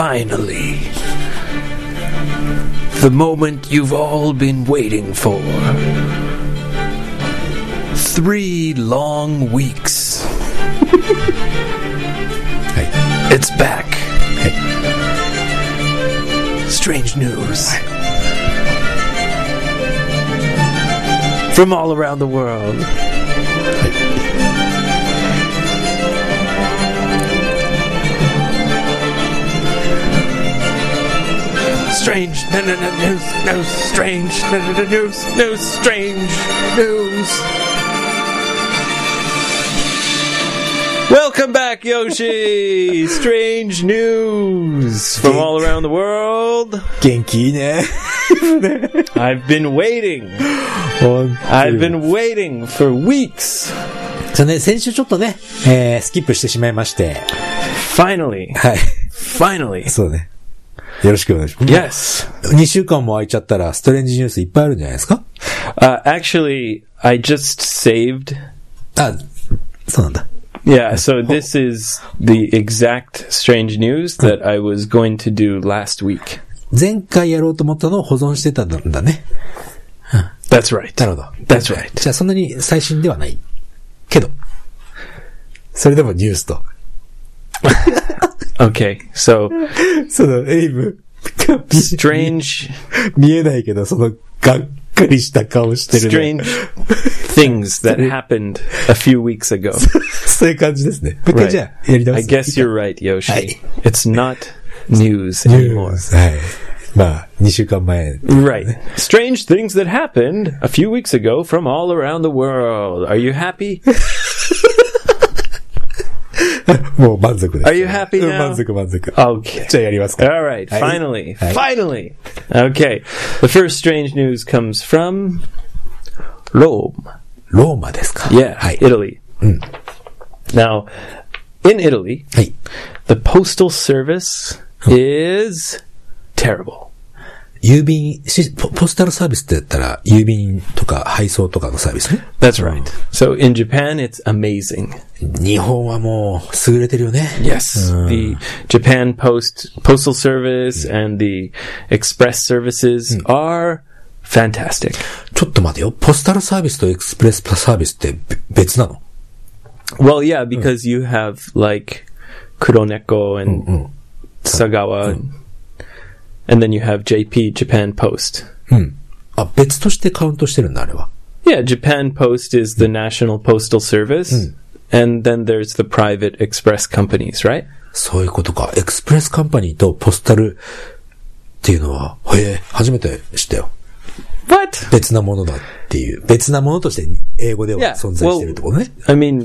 Finally, the moment you've all been waiting for. 3 long weeks. It's back. Strange news. From all around the world. Strange news, strange news, strange news. Welcome back, Yoshi! Strange news from all around the world. 元気いいね。 I've been waiting. 本当 I've been waiting for weeks. そうね、先週ちょっとね、スキップしてしまいまして。 Finally. はい。 Finally. そうね。よろしくお願いします。 Yes. 2週間も空いちゃったら、ストレンジニュースいっぱいあるんじゃないですか？ Actually, I just saved. あ、そうなんだ。 Yeah, so this is the exact strange news that I was going to do last week. 前回やろうと思ったのを保存してたんだね。 That's right. なるほど。 That's right. じゃあそんなに最新ではない。けど、それでもニュースと。 Okay, so そのエイブ、 strange 見えないけど、そのがっかりした顔してる、 ね。Strange things that happened a few weeks ago. そういう感じですね。もう一回じゃあやり直す。 I guess you're right, Yoshi. はい。 It's not news anymore. はい。まあ、2週間前。 Right. Strange things that happened a few weeks ago from all around the world. Are you happy? もう満足です。 Are you happy now? 満足。 Okay. じゃあやりますか。 All right. Finally. Finally. Okay. The first strange news comes from Rome. ローマですか？ Yeah. はい。 Italy. Now, in Italy, はい。 the postal service is terrible. 郵便、ポスタルサービスって言ったら、郵便とか配送とかのサービスね。 That's right. So in Japan, it's amazing. 日本はもう優れてるよね。 Yes. The Japan Postal Service and the Express services are fantastic. ちょっと待てよ。ポスタルサービスとエクスプレスサービスって別なの？ Well, yeah, because you have like Kuroneko and Sagawa, and then you have JP, Japan Post. あ、別としてカウントしてるんだ、あれは。 Yeah, Japan Post is the national postal service, and then there's the private express companies, right? そういうことか。エクスプレスカンパニーとポスタルっていうのは、初めて知ったよ。 What? 別なものだっていう。別なものとして英語では存在してるってことね。 I mean,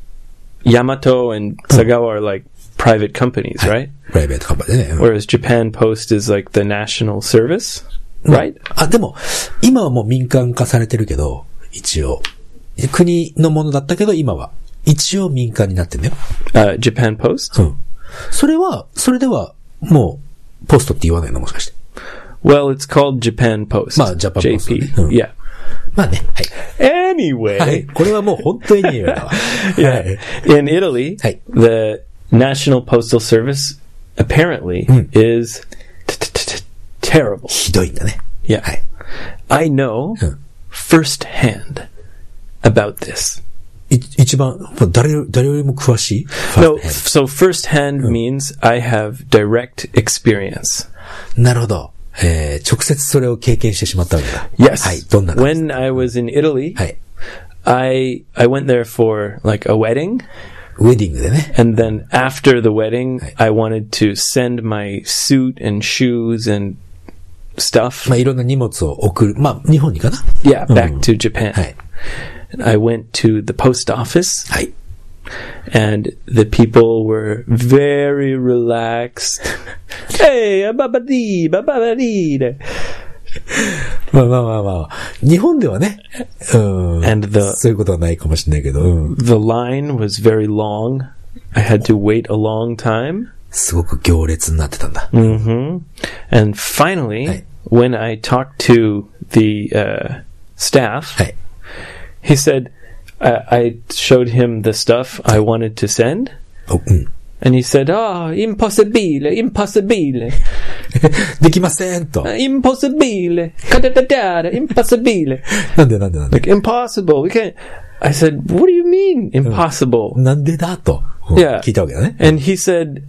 Yamato and Sagawa are like private companies, right? プライベートカンパニーね。 Whereas Japan Post is like the national service, right? あ、でも、今はもう民間化されてるけど、一応。国のものだったけど、今は。一応民間になってんだよ。 Japan Post? うん。それでは、もう、ポストって言わないのもしかして。 Well, it's called Japan Post. まあ、ジャパンポスト、ね。 JP. Yeah. まあね。はい。 Anyway. はい。これはもう本当に言うだわ。 Yeah. In Italy, はい。 the National Postal Service apparently is terrible. ひどいんだね。 Yeah. はい。 I know firsthand about this. 一番、誰よりも詳しい No, so firsthand means I have direct experience. なるほど。直接それを経験してしまったわけだ。 Yes. はい。どんな When I was in Italy, はい。 I went there for like a wedding. ウェディングでね。 And then after the wedding, I wanted to send my suit and shoes and stuff. まあ、いろんな荷物を送る。まあ、日本にかな Yeah, back to Japan. はい。 And I went to the post office. はい。 And the people were very relaxed. Hey, babadi, babadi. まあ。日本ではね。 And そういうことはないかもしれないけど。 the line was very long. I had to wait a long time. すごく行列になってたんだ。 And finally, when I talked to the staff, はい。 he said, I showed him the stuff I wanted to send. And he said, "Oh, impossibile, impossibile." できませんと。 Impossibile. Impossibile. なんで Like, impossible. We can't. I said, "What do you mean, impossible?" なんでだと。 Yeah. 聞いたわけだね。 And he said,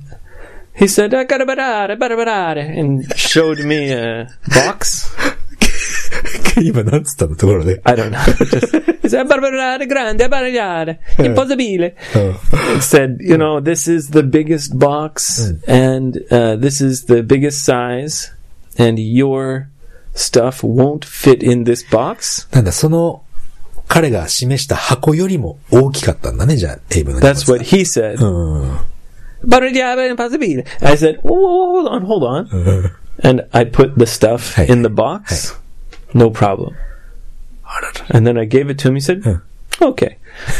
"Garabarare," and showed me a box. 今なんつったのところで。 I don't know. He said, "Barbarare grande, barbarare, impossibile." It said, "You know, this is the biggest box, and this is the biggest size, and your stuff won't fit in this box." なんだ、その、彼が示した箱よりも大きかったんだね、じゃあ、エイブの荷物が。 That's what he said. "Barbarare, impossibile." I said, "Whoa, hold on." And I put the stuff in the box. No problem. And then I gave it to him. He said, "Okay."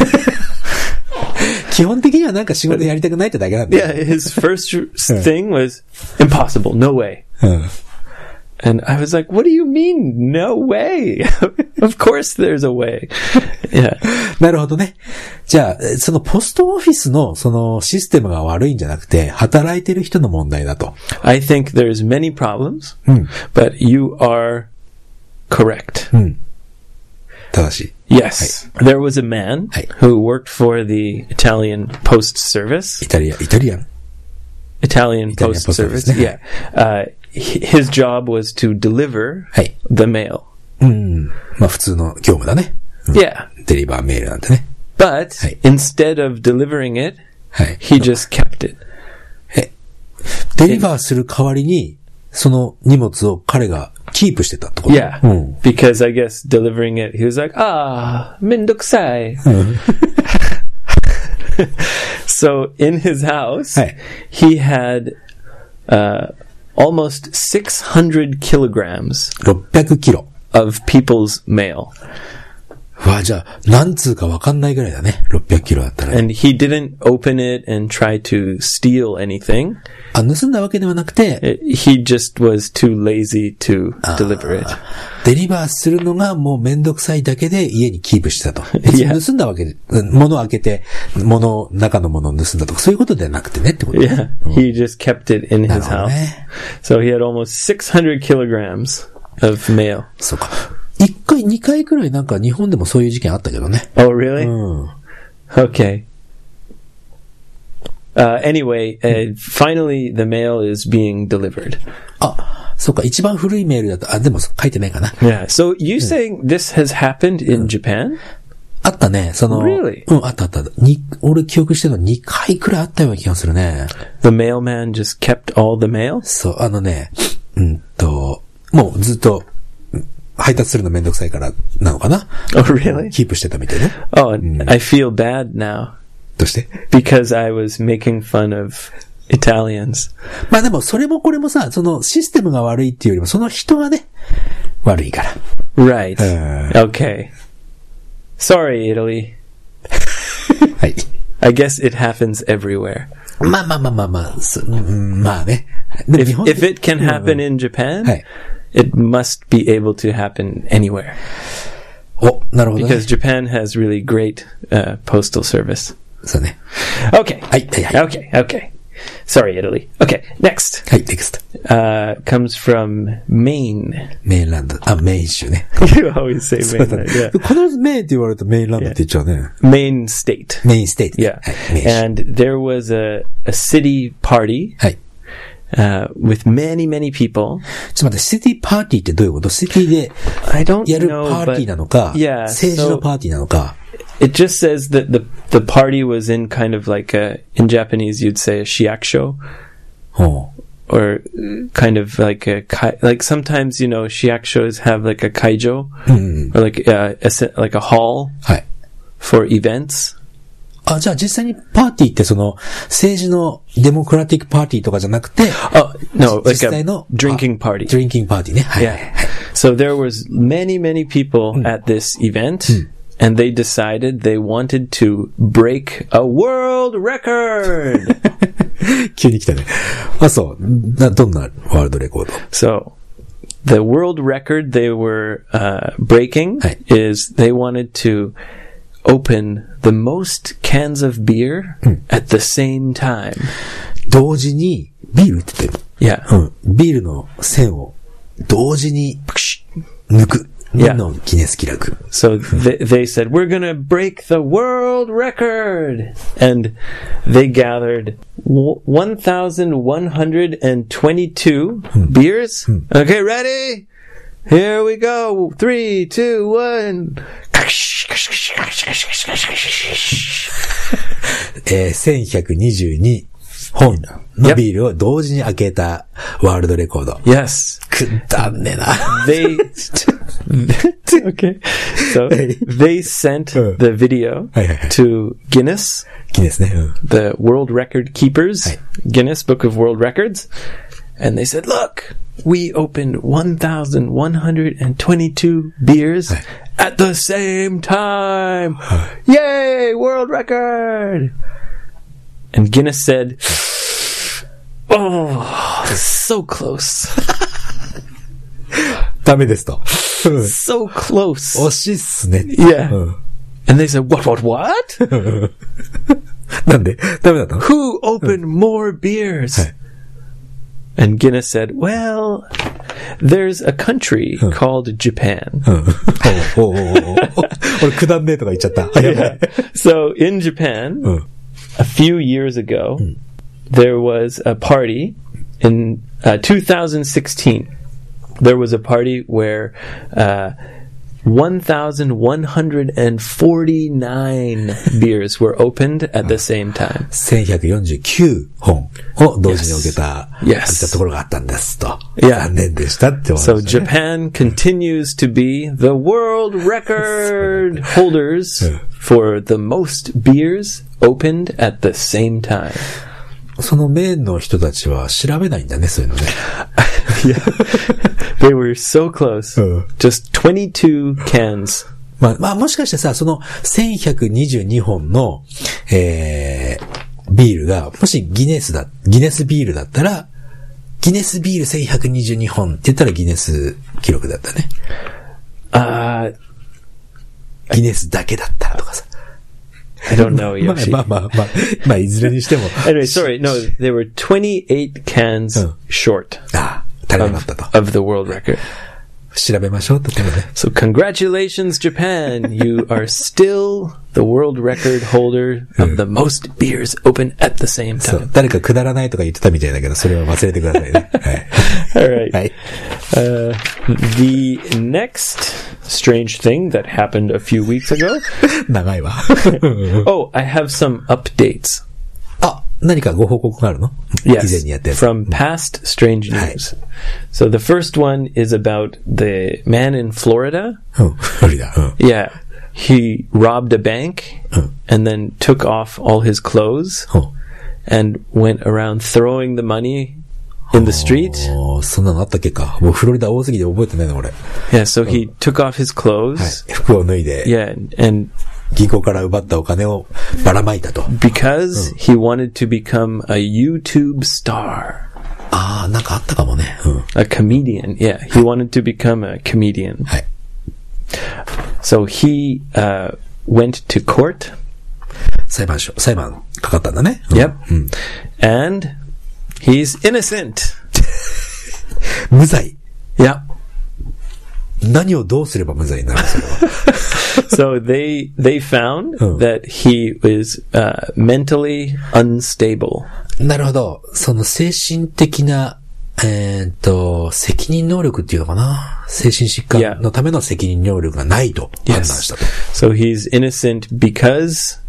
基本的にはなんか仕事やりたくないってだけなんだよ。 Yeah, his first thing was impossible. No way. And I was like, "What do you mean, no way?" Of course there's a way. Yeah. なるほどね。じゃあ、そのポストオフィスのそのシステムが悪いんじゃなくて、働いてる人の問題だと。 I think there's many problems, but you are correct. 正しい。 Yes. There was a man who worked for the Italian Post Service. イタリアン。 Italian Post Service. Yeah. His job was to deliver the mail. まあ普通の業務だね。 Yeah. デリバーメールなんてね。 But instead of delivering it, he just kept it. デリバーする代わりに、その荷物を彼がキープしてたってこと？ Yeah. Because I guess delivering it, he was like, mendokusai. So in his house, he had almost 600 kilograms 600キロ of people's mail. わあ、じゃあ、何通かわかんないぐらいだね。600キロだったら。 And he didn't open it and try to steal anything. あ、盗んだわけではなくて、 he just was too lazy to deliver it. デリバーするのがもうめんどくさいだけで家にキープしてたと。盗んだわけで、物を開けて、中の物を盗んだとか、そういうことではなくてねってことね。 Yeah. He just kept it in his house. So he had almost 600 kilograms of mail. そうか。2回くらいなんか日本でもそういう事件あったけどね。 Oh, really? Okay. Anyway, finally the mail is being delivered. あ、そうか。一番古いメールだと、でも書いてないかな。 Yeah. So you saying this has happened in Japan? あったね。 Really? あった。俺記憶してるの2回くらいあったような気がするね。 The mailman just kept all the mail? そう、もうずっと、配達するのめんどくさいからなのかな？ Oh, really? キープしてたみたいね。 Oh, I feel bad now. どうして？ Because I was making fun of Italians. まあでも、それもこれもさ、そのシステムが悪いっていうよりも、その人がね、悪いから。 Right. Okay. Sorry, Italy. はい。 I guess it happens everywhere. まあ。まあね。 If it can happen in Japan, it must be able to happen anywhere. お、なるほどね。 Because Japan has really great postal service. そうね。 Okay. はい。 Okay. Sorry, Italy. Okay, next. はい、next. Comes from Maine. メインランド。あ、メイン州ね。 You always say Maine. Yeah. 必ずメインって言われるとメインランドって言っちゃうね。 Maine state. メインステイト。 Yeah. はい、メイン州。 And there was a city party. はい。 with many people. ちょっと待って、シティパーティーってどういうこと？シティでやるパーティーなのか、政治のパーティーなのか。 It just says that the party was in kind of like in Japanese you'd say a shiakusho. Or kind of like like sometimes, you know, shiakushos have like a kaijo, or like a hall for events. あ、じゃあ実際にパーティーってその政治のデモクラティックパーティーとかじゃなくて、 no, like 実際の drinking party. Drinking party ね。はい。 Yeah. So there was many people at this event, and they decided they wanted to break a world record. 急に来たね。あ、そう。どんなワールドレコード？ So, the world record they were breaking is they wanted to open the most cans of beer at the same time. 同時にビールって言ってる。 Yeah. ビールの栓を同時に抜く。のギネス記録。 So they said, we're gonna break the world record! And they gathered 1,122 beers. Okay, ready? Here we go. 3, 2, 1. 1122本のビールを同時に開けたワールドレコード。 Yes. くだんねな。 Okay. So they sent the video to Guinness. Guinness ね。 The world record keepers. Guinness Book of World Records. And they said, look, we opened 1,122 beers at the same time. Yay, world record. And Guinness said, oh, so close. ダメですと。 So close. 惜しいっすね。 Yeah. And they said, what? なんでダメだったの Who opened more beers? And Guinness said, well, there's a country called Japan. 俺くだんねえとか言っちゃった。 Yeah. So in Japan, a few years ago, there was a party in 2016. There was a party where 1,149 beers were opened at the same time. 1149本を同時に受けた、 Yes. ところがあったんですと。 Yeah. 残念でしたって思いました So ね。 Japan continues to be the world record holders for the most beers opened at the same time. そのメインの人たちは調べないんだね、そういうのね。 Yeah. They were so close. Just 22 cans. まあ、もしかしてさ、その1122本の、ビールが、もしギネスビールだったら、ギネスビール1122本って言ったらギネス記録だったね。ギネスだけだったらとかさ。 I don't know, Yoshi. まあ、いずれにしても。 Anyway, sorry, no, they were 28 cans short 足りなかったと。 of the world record. 調べましょうってことね。 So congratulations, Japan. You are still the world record holder of the most beers open at the same そう time. 誰かくだらないとか言ってたみたいだけど、それは忘れてくださいね。はい。 All right. はい。 The next strange thing that happened a few weeks ago. 長いわ。 Oh, I have some updates. あ、何かご報告があるの？ Yes, 以前にやったやつ。 from past strange news. So the first one is about the man in Florida. フロリダ。 Yeah. He robbed a bank and then took off all his clothes and went around throwing the money in the street. そんなのあったっけか。もうフロリダ多すぎて覚えてないの俺。 Yeah, so he took off his clothes. 服を脱いで。 Yeah, and 銀行から奪ったお金をばらまいたと。 because he wanted to become a YouTube star. ああ、なんかあったかもね。 A comedian. Yeah, he wanted to become a comedian. はい。 So he went to court. 裁判かかったんだね。 Yep. And he's innocent. 無罪。 Yeah. 何をどうすれば無罪になるのそれは。 So they found that he was mentally unstable. なるほど。その精神的な、責任能力っていうのかな。精神疾患のための責任能力がないと判断したと。 So he's innocent because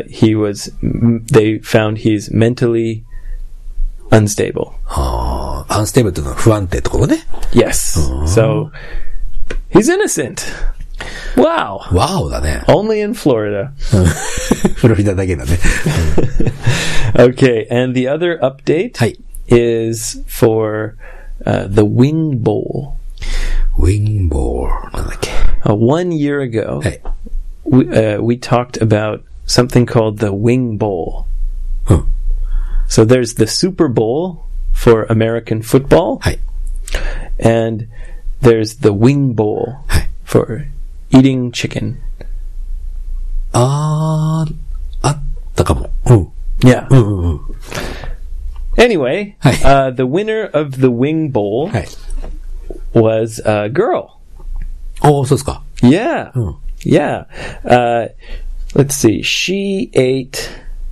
they found he's mentally unstable. アンステーブルっていうのは不安定ってことね。 Yes. So he's innocent. Wow. ワオだね。 Only in Florida. フロリダだけだね。 Okay, and the other update はい。 is for the Wing Bowl. ウィンボールなんだっけ。 1 year ago, はい。 we talked about something called the Wing Bowl. So there's the Super Bowl for American football, はい。 and there's the Wing Bowl はい。 for eating chicken. あったかも。うん。 Yeah. うんうんうん。 Anyway, はい。 the winner of the wing bowl はい。 was a girl. おー、そうですか。 Yeah. うん。 Yeah. Let's see. She ate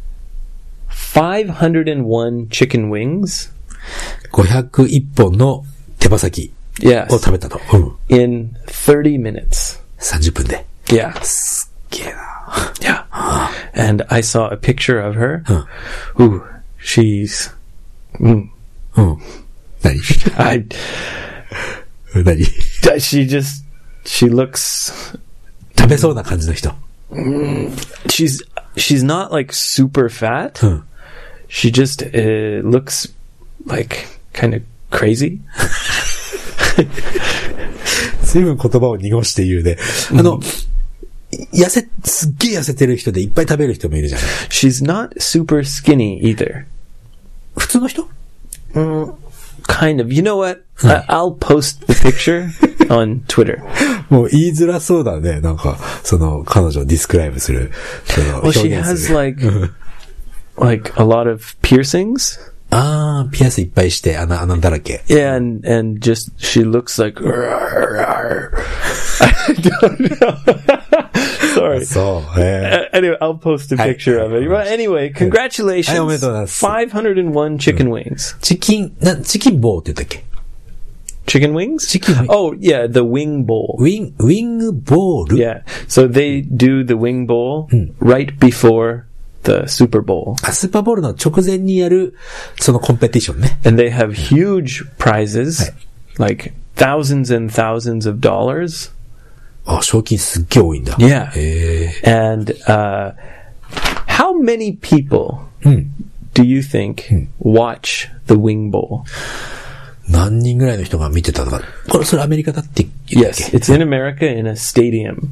501 chicken wings. 501本の手羽先 Yes. を食べたと。うん。 In 30 minutes. 30分で。 Yeah. すっげえな。 Yeah. And I saw a picture of her. うん。 Ooh, she's... うん。何 I... 何 She looks... 食べそうな感じの人。 She's not like super fat. うん。 She just looks like kind of crazy. 随分言葉を濁して言うね。すっげえ痩せてる人でいっぱい食べる人もいるじゃない。 She's not super skinny either. 普通の人 Kind of. You know what? I'll post the picture on Twitter. もう言いづらそうだね。なんか、彼女をディスクライブする。 Well, she has like a lot of piercings. ピアスいっぱいして、穴だらけ。 Yeah, and just, she looks like, I don't know. Sorry. Anyway, I'll post a picture of it. But anyway, congratulations. おめでとうございます。 501 chicken wings. チキンボーって言ったっけ Chicken wings? Oh, yeah, the wing bowl. ウィングボール Yeah. So they do the wing bowl right before the Super Bowl. スーパーボールの直前にやる、そのコンペティションね。 And they have huge prizes, like thousands and thousands of dollars. 賞金すっげえ多いんだ。 Yeah. And how many people do you think watch the wing bowl? 何人ぐらいの人が見てたとか。それアメリカだって言ったっけ Yes, it's in America in a stadium.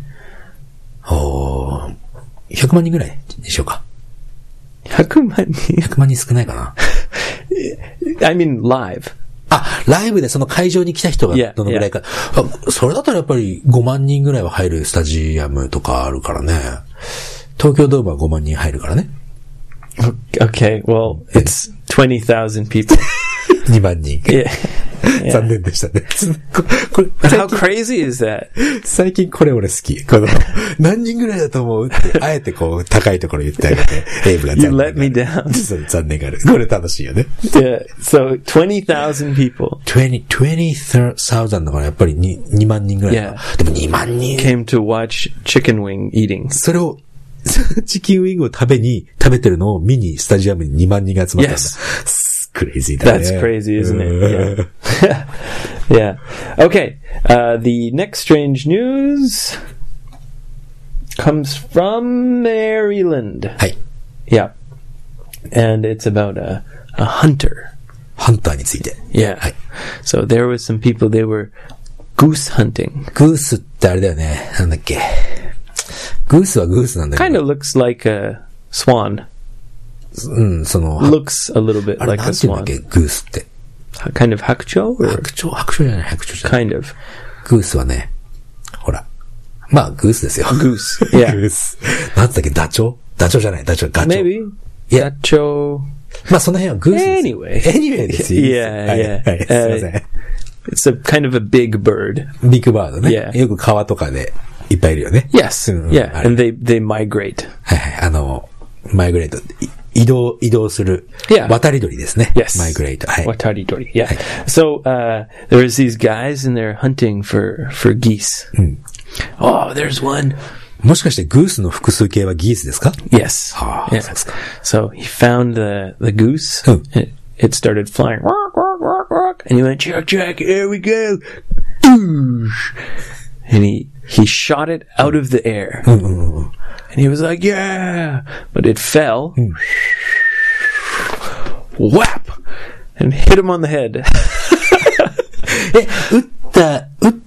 100万人ぐらいでしょうか。 100万人 100万人少ないかな。 I mean live. ライブでその会場に来た人がどのぐらいか。それだったらやっぱり5万人ぐらいは入るスタジアムとかあるからね。東京ドームは5万人入るからね。 Okay, well, it's 20,000 people. 2万人。 Yeah. 残念でしたね。 How crazy is that? 最近これ俺好き。何人ぐらいだと思うって、あえて高いところ言ってあげて、エイブが You let me down. 残念がある。これ楽しいよね。 Yeah, so 20,000 people. 20,000だからやっぱり2万人ぐらい。 Yeah. でも2万人。 Came to watch chicken wing eating. それを、チキンウィングを食べてるのを見にスタジアムに2万人が集まったんだ。 Yes. Crazy だね。 That's crazy, isn't it? Yeah. Yeah. Okay. The next strange news comes from Maryland. はい。 Yeah. And it's about a hunter. ハンターについて。 Yeah. はい。 So there was some people, they were goose hunting. グースってあれだよね。なんだっけ。グースはグースなんだけど。 Kind of looks like a swan. Looks a little bit like a swan. なんていうんだっけ、グースって。 Kind of 白鳥じゃない。 Kind of. グースはね、ほら。まあ、グースですよ。 Goose. Yeah. グース。なんだっけ、ダチョウじゃない、ガチョウ。 Maybe. いや、 ダチョウ。 まあ、その辺はグースです。 Anyway ですよ。 Yeah. はい、すいません。 It's a kind of a big bird. ビッグバードね。 Yeah. よく川とかでいっぱいいるよね。 Yes. Yeah. And they migrate. はい。マイグレート。移動する。 Yeah. 渡り鳥ですね。 Yes. マイグレート。はい。 渡り鳥。Yeah. So, there was these guys and they're hunting for geese. Oh, there's one. もしかしてグースの複数形はギースですか Yes. Yeah. So he found the goose. It started flying. And he went, check, here we go. And he shot it out of the air. And he was like, yeah. But it fell. Whap! And hit him on the head. 撃って、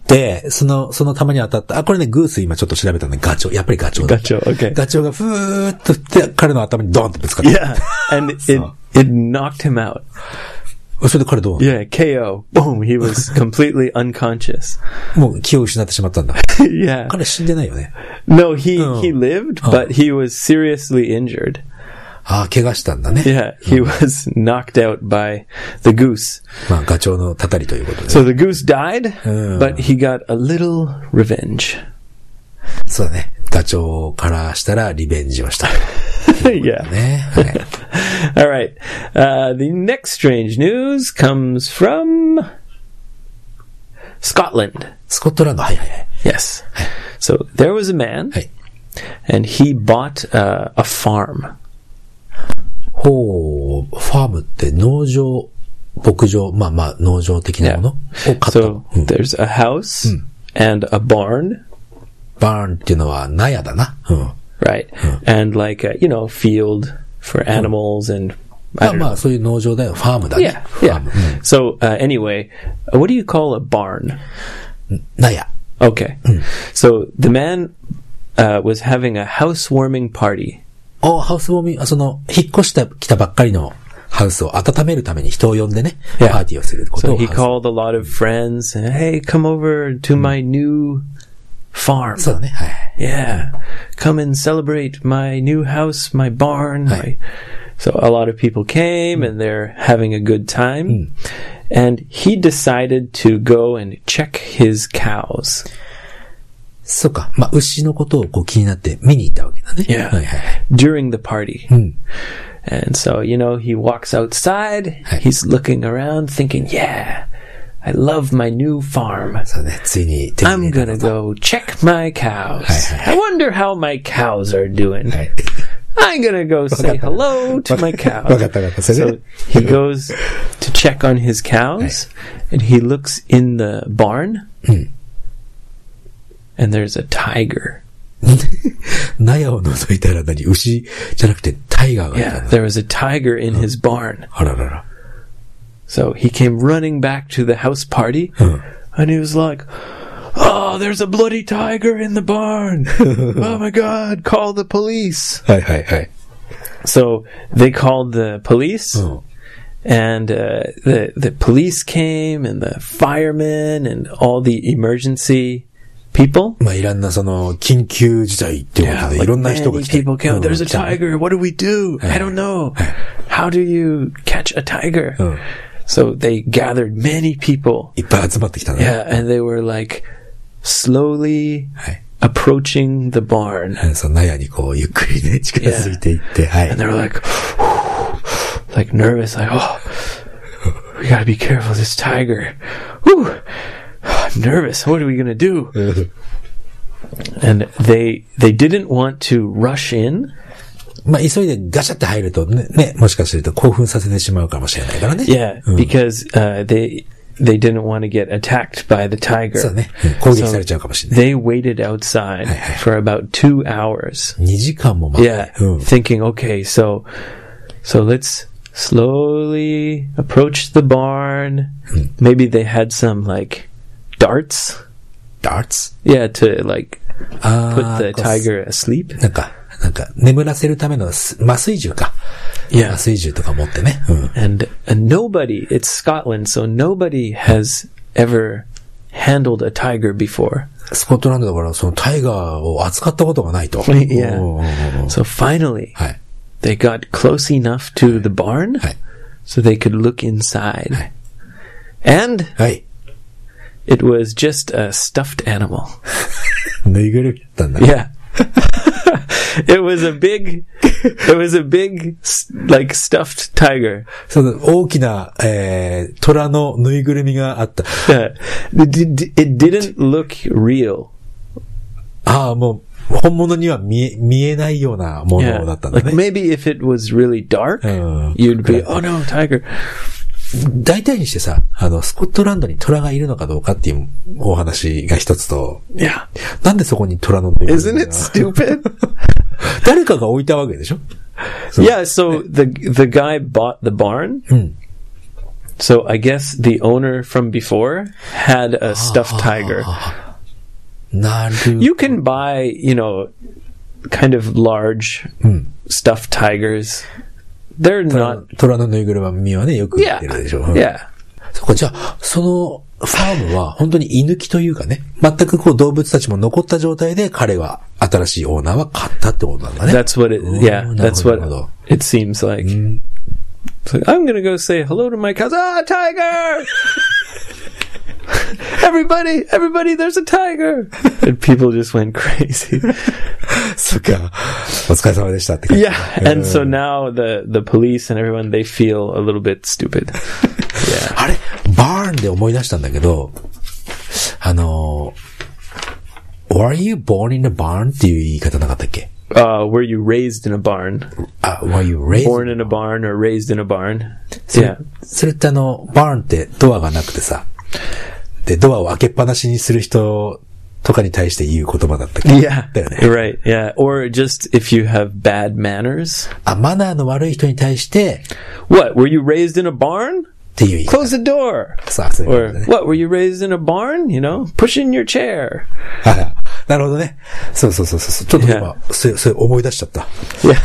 その弾に当たった。これね、グース今ちょっと調べたんで、ガチョウ。やっぱりガチョウだ。 Okay. ガチョウがふーっと振って、彼の頭にドーンってぶつかった。 Yeah. And it knocked him out. それで彼どうなの？ Yeah, KO. Boom, he was completely unconscious. もう気を失ってしまったんだ。 Yeah. 彼死んでないよね。 No, he lived, but he was seriously injured. ああ、怪我したんだね。 Yeah, he was knocked out by the goose. まあ、ガチョウのたたりということで。 So the goose died, but he got a little revenge. そうだね。ガチョウからしたらリベンジをした。 Yeah. ね。はい。 All right. The next strange news comes from Scotland. スコットランド、はいはいはい。 Yes. So there was a man, はい。 and he bought a farm. ほう、ファームって農場、牧場、まあまあ農場的なものを買った。 So there's a house and a barn, バーンっていうのは納屋だな。うん。 right? And like a, field for animals and ま I あ don't ま know. あそういう農場だよ。ファームだね。 Yeah, ファー yeah. ム。 So anyway, what do you call a barn? 納屋。 Okay. So the man was having a housewarming party. ハウスウォーミング、引っ越してきたばっかりのハウスを温めるために人を呼んでね、 Yeah. パーティーをすること So を。 he called a lot of friends and, hey, come over to my new farm. そうだね。はい。 Yeah. Come and celebrate my new house, my barn. Right. So a lot of people came and they're having a good time. And he decided to go and check his cows. そうか。まあ、牛のことを気になって見に行ったわけだね。 Yeah. はいはい。 During the party. うん。 And so, he walks outside. Hey. He's looking around thinking, yeah, I love my new farm. そうね。ついに手に I'm 入れ gonna たの go check my cows. Hey. I wonder how my cows are doing. はい。 I'm gonna go say hello to my cows. わかったわかった。それ So で he goes to check on his cows, and he looks in the barn, and there's a tiger. 納屋を覗いたら何？牛じゃなくてタイガーがいた Yeah, んだ。 there was a tiger in his barn. あららら。 So he came running back to the house party, and he was like, "Oh, there's a bloody tiger in the barn! Oh my God, call the police!" はいはいはい。 So they called the police, うん。 and the police came, and the firemen, and all the emergency people. まあ、いろんな緊急事態っていうことで、いろんな人が many 来て。 people came. うん There's a 来たね tiger. What do we do? I don't know. How do you catch a tiger? うん。 So they gathered many people. いっぱい集まってきたね。 Yeah, and they were like slowly はい。 approaching the barn. 納屋にゆっくりね、近づいていって、はい。 And they were like, like nervous, like, oh, we gotta be careful, this tiger. Whew, I'm nervous. What are we gonna do? And they didn't want to rush in. まあ、急いでガシャって入るとね、もしかすると興奮させてしまうかもしれないからね。 Yeah, because they didn't want to get attacked by the tiger. そうね。攻撃されちゃうかもしれない。 They waited outside for about 2 hours. 2時間も待って。 Yeah, うん。 thinking, okay, so let's slowly approach the barn. Maybe they had some like darts. darts? Yeah, to like あ put ー the tiger asleep. なんか、眠らせるための麻酔銃か。 Yeah. 麻酔銃とか持ってね。うん。 And nobody, it's Scotland, so nobody has ever handled a tiger before. スコットランドだから、タイガーを扱ったことがないと。 Yeah. おー So finally, はい。 they got close enough to the barn はい。 so they could look inside. And はい。 it was just a stuffed animal. ぬいぐるみだったんだ。 Yeah. It was a big, like stuffed tiger. 大きな、虎のぬいぐるみがあった。 It didn't look real. ああ、もう、本物には見えないようなものだったんだ Like ね。 maybe if it was really dark, うん。 you'd be, oh no, tiger. 大体にしてさ、スコットランドに虎がいるのかどうかっていうお話が一つと、 Yeah. なんでそこに虎のぬいぐるみ Isn't が it stupid? 誰かが置いたわけでしょ Yeah, so the guy bought the barn. So I guess the owner from before had a stuffed tiger. なる You can buy, kind of large stuffed tigers they're not... 虎のぬいぐるみはね、よく言ってるでしょ。 Yeah. そこじゃあ、そのファームは本当に居抜きというかね、全くこう動物たちも残った状態で彼は新しいオーナーは買ったってことなんだね。 That's what it, yeah, that's what it seems like. It's like, I'm gonna go say hello to my cousin. Ah, tiger! Everybody, there's a tiger! And people just went crazy. そっか。お疲れ様でしたって感じ。 Yeah, and so now the police and everyone, they feel a little bit stupid. Yeah. あれバーンで思い出したんだけど、Were you born in a barn? っていう言い方なかったっけ Were you raised in a barn? Were you raised? Born in a barn or raised in a barn? それってバーンってドアがなくてさ、で、ドアを開けっぱなしにする人とかに対して言う言葉だったっけ Yeah. だよね。 Right, yeah. Or just if you have bad manners. マナーの悪い人に対して、 What? Were you raised in a barn? っていう言い方。 Close the door. そういう Or, what? Were you raised in a barn? You know, push in your chair. なるほどね。そう。ちょっと今、それ思い出しちゃった。 Yeah.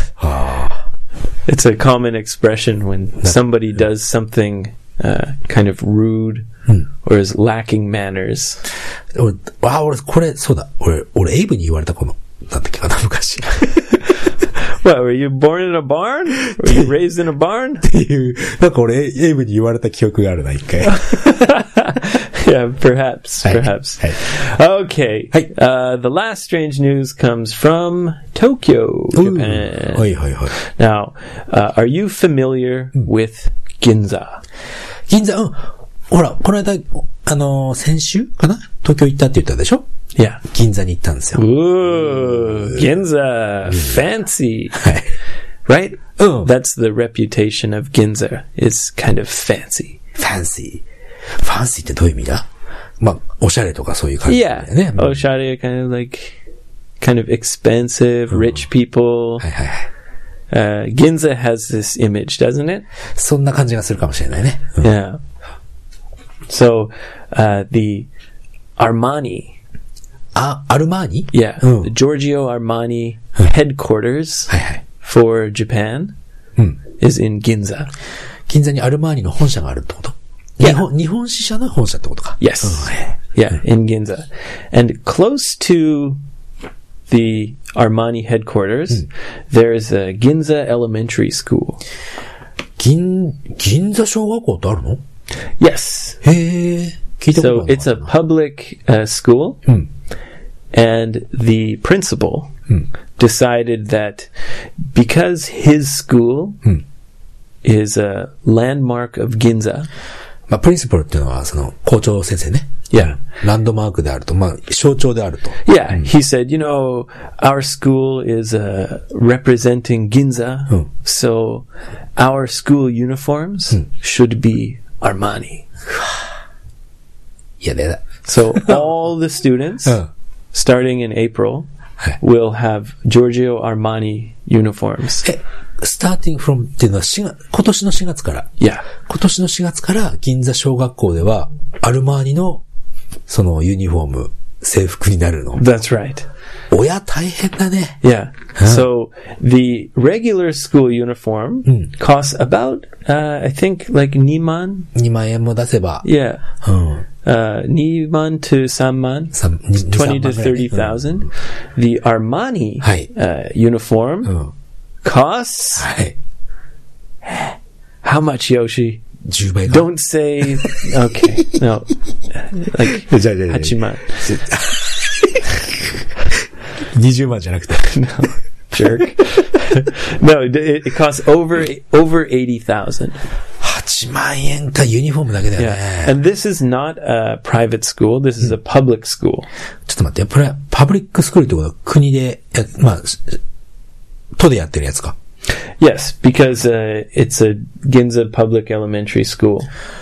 It's a common expression when somebody does something kind of rude or is lacking manners. 俺、これ、そうだ。俺、エイブに言われたなんだっけかな、昔。 What, were you born in a barn? Were you raised in a barn? っていう、なんか俺、エイブに言われた記憶があるな、一回。 Yeah, perhaps. Okay. The last strange news comes from Tokyo, Japan. Now, are you familiar with Ginza? 銀座、ほら、この間、先週かな東京行ったって言ったでしょ Yeah. 銀座に行ったんですよ。 Ooh, Ginza. Fancy. Right? That's the reputation of Ginza. It's kind of fancy. Fancy ってどういう意味だおしゃれとかそういう感じだよね。 Yeah. おしゃれ kind of expensive, rich people. Ginza has this image, doesn't it? そんな感じがするかもしれないね。 Yeah. So, the Armani. Armani? Yeah. The Giorgio Armani headquarters for Japan is in Ginza. 銀座にアルマーニの本社があるってこと？日本支社の本社ってことか。 Yes. Yeah, in Ginza. And close to the Armani headquarters, there's a Ginza Elementary School. 銀座小学校ってあるの？ Yes. へえ。聞いたことある。 So it's a public school, and the principal decided that because his school is a landmark of Ginza. プリンシパルっていうのはその校長先生ね。 Yeah. ランドマークであると、象徴であると。 Yeah, he said, our school is representing Ginza, so our school uniforms should be Armani. いやだ。 So all the students, starting in April, will have Giorgio Armani uniforms. starting from っていうのは今年の4月から。 Yeah. 今年の4月から銀座小学校ではアルマーニのそのユニフォーム、制服になるの。 That's right. 親大変だね。 Yeah. So the regular school uniform costs about, I think like 2万円も出せば。 Yeah. 2万 to 3万. 20 to 30,000. The Armani uniform costs how much, Yoshi? 10倍か。 Don't say okay. No. Like 8万. 20万じゃなくて。 No. Jerk. No, it costs over 80,000. 8万円かユニフォームだけだよね。 Yeah. And this is not a private school. This is a public school. ちょっと待って、パブリックスクールってことは国で、都でやってるやつか。 Yes, because it's a Ginza public elementary school.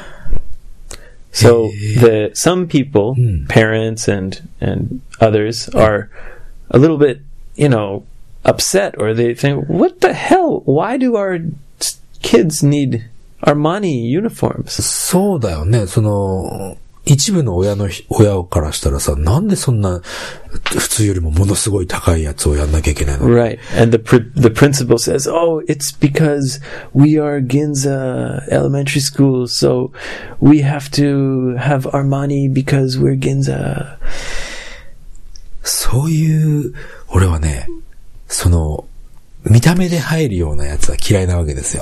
So some people, parents and others are a little bit, upset, or they think, what the hell? Why do our kids need Armani uniforms? そうだよね。 一部の親からしたらさ、なんでそんな、普通よりもものすごい高いやつをやんなきゃいけないの？ Right. And the principal says, oh, it's because we are Ginza Elementary School, so we have to have Armani because we're Ginza. そういう、俺はね、見た目で入るようなやつは嫌いなわけですよ。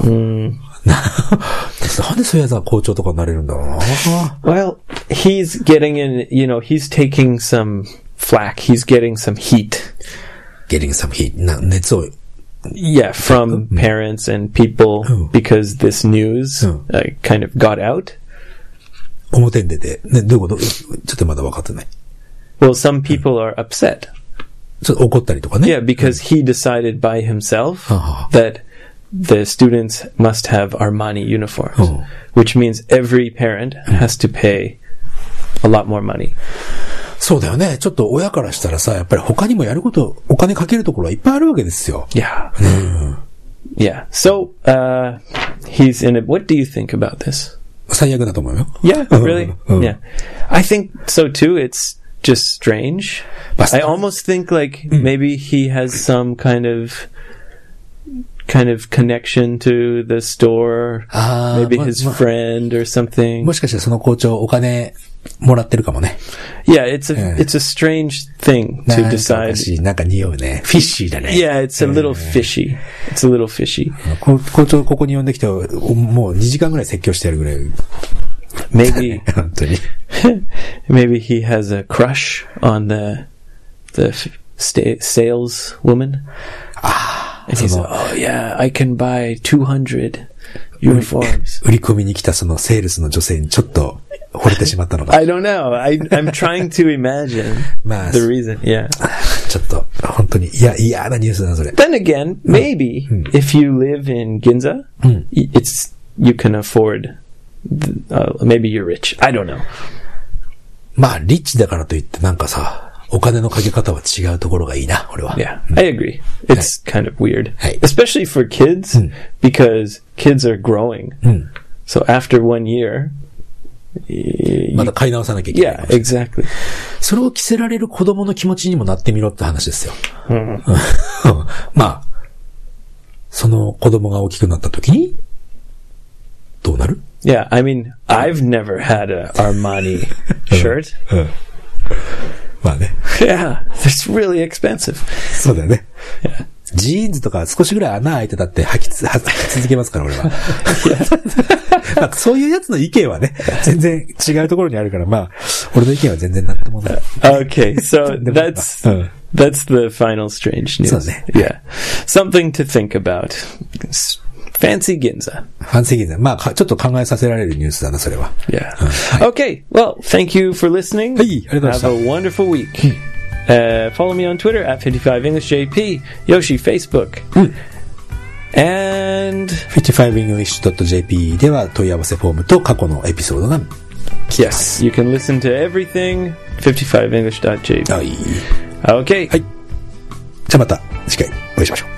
なんでそういうやつが校長とかになれるんだろうな。 Well, he's getting in, he's taking some flack. He's getting some heat. Getting some heat. 熱を。 Yeah, from parents and people because this news kind of got out. 表に出て。ね、どういうこと？ちょっとまだ分かってない。 Well, some people are upset. ちょっと怒ったりとかね。 Yeah, because he decided by himself that the students must have Armani uniforms, which means every parent has to pay a lot more money. そうだよね。ちょっと親からしたらさ、やっぱり他にもやること、お金かけるところはいっぱいあるわけですよ。 Yeah. Yeah. So, he's in it. What do you think about this? 最悪だと思うよ。 Yeah, really? Yeah. I think so too. It's just strange. I almost think like maybe he has some kind of connection to the store, maybe his friend or something. もしかしてその校長お金もらってるかもね。 Yeah, it's a strange thing to decide. なんか匂うね。フィッシーだね。 Yeah, it's a little fishy. It's a little fishy. 校長ここに呼んできてもう2時間ぐらい説教してやるぐらい。 Maybe, 本当に。 maybe he has a crush on the saleswoman. And he's like, oh yeah, I can buy 200 uniforms. 売り込みに来たそのセールスの女性にちょっと惚れてしまったのか。 I don't know. I'm trying to imagine the reason. Yeah. ちょっと本当に嫌なニュースだなそれ。 Then again, maybe if you live in Ginza, you can afford. Maybe you're rich. I don't know. まあリッチだからといってなんかさ。お金のかけ方は違うところがいいな、俺は。 Yeah, I agree. It's kind of weird. Especially for kids, because kids are growing. So after 1 year... まだ買い直さなきゃいけない。 Yeah, exactly. それを着せられる子供の気持ちにもなってみろって話ですよ。まあ、その子供が大きくなった時に、どうなる？ Yeah, I mean, I've never had a Armani shirt. まあね。 Yeah, it's really expensive. そうだよね。Yeah. ジーンズとか少しぐらい穴開いてたって履き続けますから、俺は。まあ、そういうやつの意見はね、全然違うところにあるから、まあ、俺の意見は全然なんともない。 Okay, so that's the final strange news. そうね。 Yeah. Something to think about. Fancy Ginza. Fancy Ginza. まあ、ちょっと考えさせられるニュースだな、それは。 Yeah. Okay. Well, thank you for listening. はい、ありがとうございました。 Have a wonderful week. Follow me on Twitter at 55EnglishJP. Yoshi, Facebook. And 55english.jp では問い合わせフォームと過去のエピソードが Yes, you can listen to everything 55english.jp. はい。 Okay. はい。じゃあまた次回お会いしましょう。